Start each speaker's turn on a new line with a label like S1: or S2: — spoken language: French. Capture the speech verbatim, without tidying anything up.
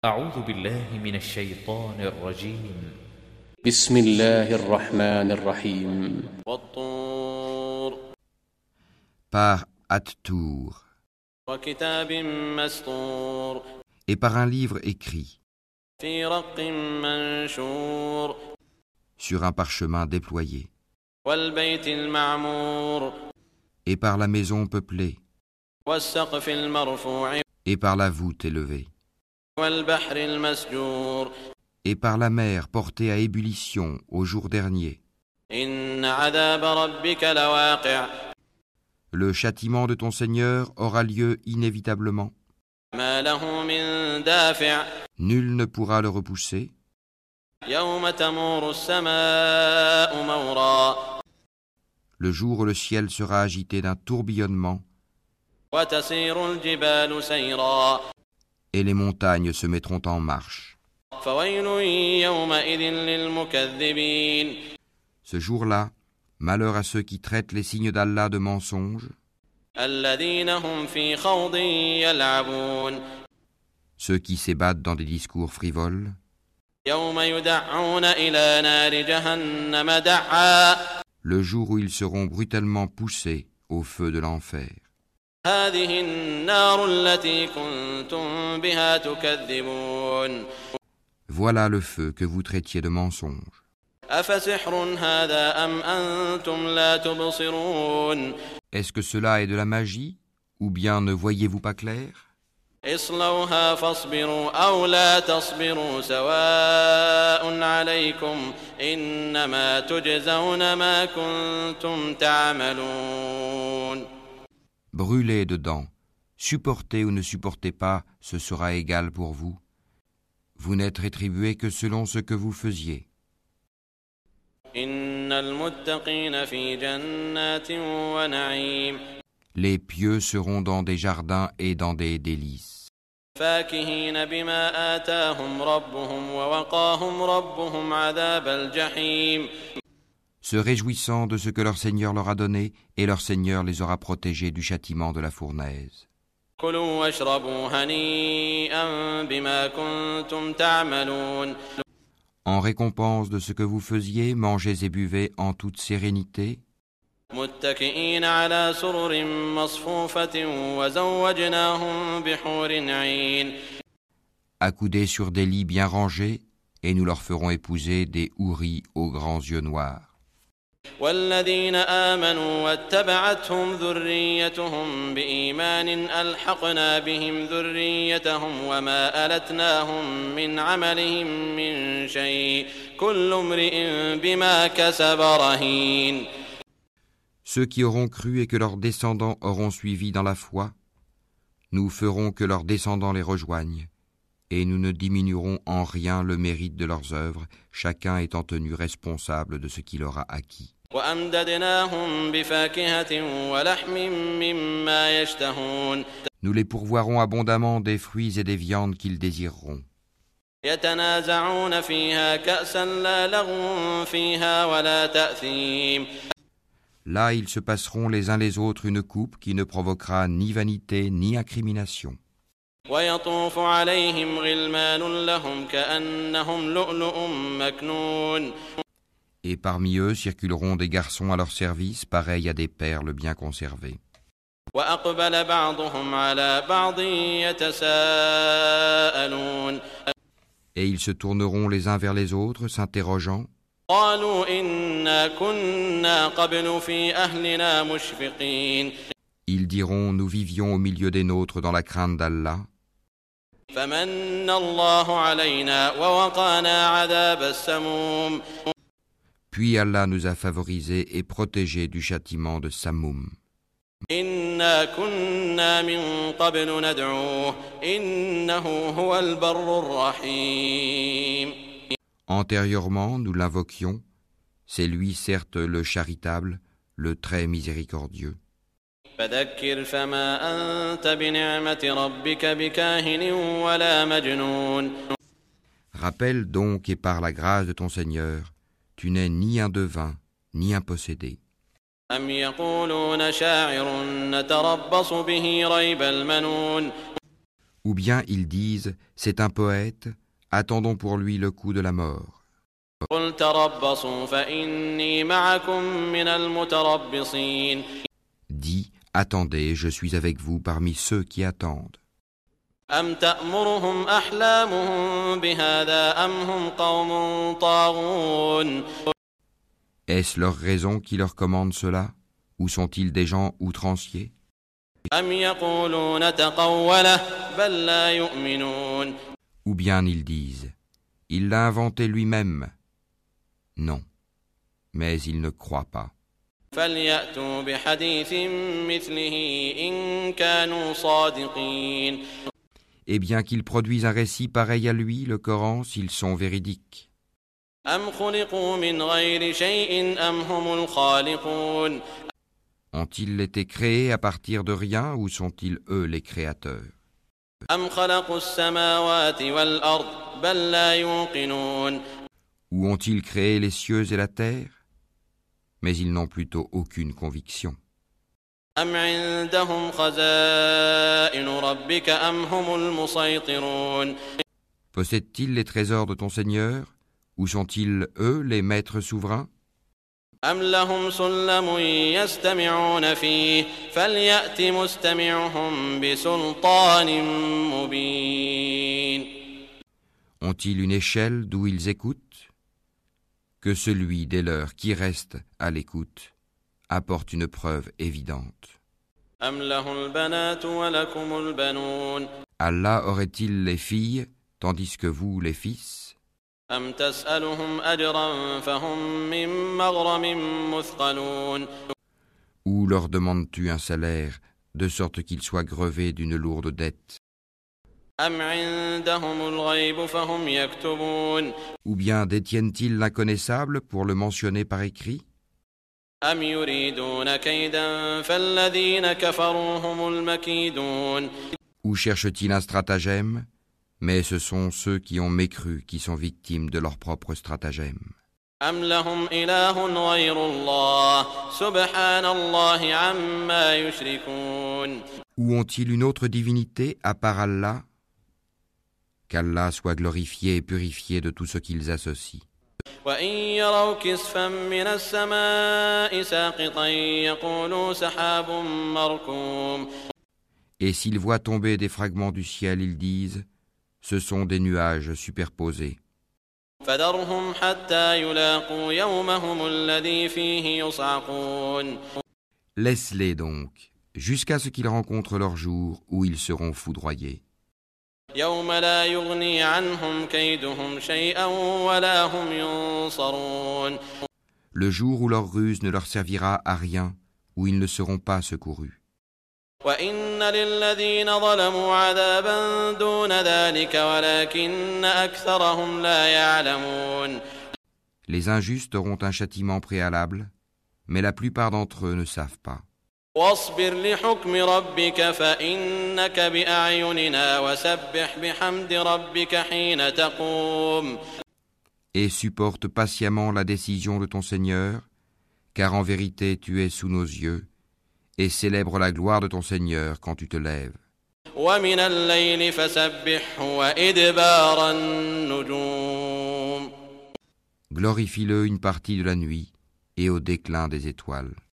S1: أعوذ بالله من الشيطان الرجيم
S2: بسم الله الرحمن الرحيم
S3: والطور
S4: Par At-Tour
S3: وكتاب مسطور
S4: et par un livre écrit
S3: في رق منشور
S4: sur un parchemin déployé
S3: والبيت المعمور
S4: et par la maison peuplée
S3: والسقف المرفوع
S4: et par la voûte élevée
S3: والبحر المسجور
S4: et par la mer portée à ébullition au jour dernier.
S3: إن عذاب ربك لواقع
S4: Le châtiment de ton Seigneur aura lieu inévitablement.
S3: ما له من دافع
S4: Nul ne pourra le repousser.
S3: يوم تمور السماء مورا
S4: Le jour où le ciel sera agité d'un tourbillonnement
S3: وتسير الجبال سيرا
S4: et les montagnes se mettront en marche.
S3: فويل يومئذ للمكذبين
S4: Ce jour-là, malheur à ceux qui traitent les signes d'Allah de mensonges,
S3: الذين هم في خوض يلعبون
S4: ceux qui s'ébattent dans des discours frivoles,
S3: يوم يدعون إلى نار جهنم دعا
S4: le jour où ils seront brutalement poussés au feu de l'enfer.
S3: هذه النار التي كنتم بها تكذبون
S4: Voilà le feu que vous traitiez de mensonge.
S3: أفسحر هذا أم أنتم لا تبصرون
S4: Est-ce que cela est de la magie, ou bien ne voyez-vous pas clair?
S3: اصلوها فاصبروا أو لا تصبروا سواء عليكم إنما تجزون ما كنتم تعملون
S4: Brûlez dedans, supportez ou ne supportez pas, ce sera égal pour vous. Vous n'êtes rétribués que selon ce que vous faisiez.
S3: إن المتقين في جنات ونعيم
S4: Les pieux seront dans des jardins et dans des délices,
S3: فاكهين بما آتاهم ربهم ووقاهم ربهم عذاب الجحيم
S4: se réjouissant de ce que leur Seigneur leur a donné, et leur Seigneur les aura protégés du châtiment de la fournaise.
S3: كلوا واشربوا هنيئا بما كنتم تعملون
S4: En récompense de ce que vous faisiez, mangez et buvez en toute sérénité,
S3: متكئين على سرر مصفوفة وزوجناهم بحور عين
S4: accoudés sur des lits bien rangés, et nous leur ferons épouser des houris aux grands yeux noirs.
S3: والذين آمنوا واتبعتهم ذريتهم بإيمان ألحقنا بهم ذريتهم وما ألتناهم من عملهم من شيء كل امرئ بما كسب رهين
S4: Ceux qui auront cru et que leurs descendants auront suivi dans la foi, nous ferons que leurs descendants les rejoignent, et nous ne diminuerons en rien le mérite de leurs œuvres, chacun étant tenu responsable de ce qu'il aura acquis.
S3: وأمددناهم بفاكهة ولحم مما يشتهون
S4: Nous les pourvoirons abondamment des fruits et des viandes qu'ils désireront.
S3: يتنازعون فيها كأسا لا لغو فيها ولا تأثيم
S4: Là, ils se passeront les uns les autres une coupe qui ne provoquera ni vanité ni incrimination.
S3: ويطوف عليهم غلمان لهم كأنهم لؤلؤ مكنون
S4: Et parmi eux circuleront des garçons à leur service, pareils à des perles bien conservées.
S3: وأقبل بعضهم على بعض يتساءلون
S4: Et ils se tourneront les uns vers les autres, s'interrogeant.
S3: قالوا إنا كنا قبل في أهلنا مشفقين
S4: Ils diront, nous vivions au milieu des nôtres dans la crainte d'Allah.
S3: فمن الله علينا ووقانا عذاب السموم
S4: Puis Allah nous a favorisés et protégés du châtiment de Samoum.
S3: إنا كنا من قبل ندعوه إنه هو البر الرحيم
S4: Antérieurement, nous l'invoquions. C'est lui, certes, le charitable, le très miséricordieux.
S3: فذكر فما أنت بنعمة ربك بكاهن ولا مجنون
S4: Rappelle donc, et par la grâce de ton Seigneur, tu n'es ni un devin, ni un possédé.
S3: أم يقولون شاعر نتربص به ريب المنون
S4: Ou bien ils disent, c'est un poète, attendons pour lui le coup de la mort.
S3: قل تربصوا فإني معكم من المتربصين.
S4: Dis, attendez, je suis avec vous parmi ceux qui attendent.
S3: أم تأمرهم أحلامهم بهذا أم هم قوم طاغون.
S4: Est-ce leur raison qui leur commande cela? Ou sont-ils des gens outranciers?
S3: أم يقولون تقوله بل لا يؤمنون.
S4: Ou bien ils disent, il l'a inventé lui-même. Non, mais ils ne croient pas.
S3: فليأتوا بحديث مثله إن كانوا صادقين.
S4: Eh bien qu'ils produisent un récit pareil à lui, le Coran, s'ils sont véridiques.
S3: أم خلقوا من غير شيء أم هم الخالقون.
S4: Ont-ils été créés à partir de rien ou sont-ils eux les créateurs?
S3: أم خلقوا السماوات والأرض بل لا يوقنون.
S4: Ou ont-ils créé les cieux et la terre? Mais ils n'ont plutôt aucune conviction.
S3: أم عندهم خزائن ربك أم هم المسيطرون.
S4: Possèdent-ils les trésors de ton Seigneur? Ou sont-ils eux les maîtres souverains?
S3: أم لهم سلم يستمعون فيه فليأت مستمعهم بسلطان مبين.
S4: Ont-ils une échelle d'où ils écoutent? Que celui des leurs qui reste à l'écoute apporte une preuve évidente.
S3: أم له البنات ولكم البنون.
S4: Allah aurait-il les filles, tandis que vous les fils?
S3: أم تسألهم أجرا فهم من مغرم مثقلون.
S4: Ou leur demandes-tu un salaire, de sorte qu'ils soient grevés d'une lourde dette?
S3: أم عندهم الغيب فهم يكتبون.
S4: Ou bien détiennent-ils l'inconnaissable pour le mentionner par écrit?
S3: أم يريدون كيدا فالذين كفروا هم المكيدون.
S4: Ou cherchent-ils un stratagème? Mais ce sont ceux qui ont mécru qui sont victimes de leur propre stratagème.
S3: أم لهم إله غير الله سبحان الله عما يشركون.
S4: Ou ont-ils une autre divinité à part Allah? Qu'Allah soit glorifié et purifié de tout ce qu'ils associent.
S3: وإن يروا كسفا من السماء ساقطا يقولوا سحاب مركوم.
S4: Et s'ils voient tomber des fragments du ciel, ils disent, ce sont des nuages superposés.
S3: فذرهم حتى يلاقوا يومهم الذي فيه يصعقون.
S4: Laisse-les donc, jusqu'à ce qu'ils rencontrent leur jour où ils seront foudroyés.
S3: يوم لا يغني عنهم كيدهم شيئا ولا هم ينصرون.
S4: Le jour où leur ruse ne leur servira à rien, où ils ne seront pas secourus.
S3: وإن للذين ظلموا عذابا دون ذلك ولكن أكثرهم لا يعلمون.
S4: Les injustes auront un châtiment préalable, mais la plupart d'entre eux ne savent pas.
S3: واصبر لحكم ربك فإنك بأعيننا وسبح بحمد ربك حين تقوم.
S4: Et supporte patiemment la décision de ton Seigneur, car en vérité tu es sous nos yeux, et célèbre la gloire de ton Seigneur quand tu te lèves.
S3: ومن الليل فسبحه وإدبار النجوم.
S4: Glorifie-le une partie de la nuit et au déclin des étoiles.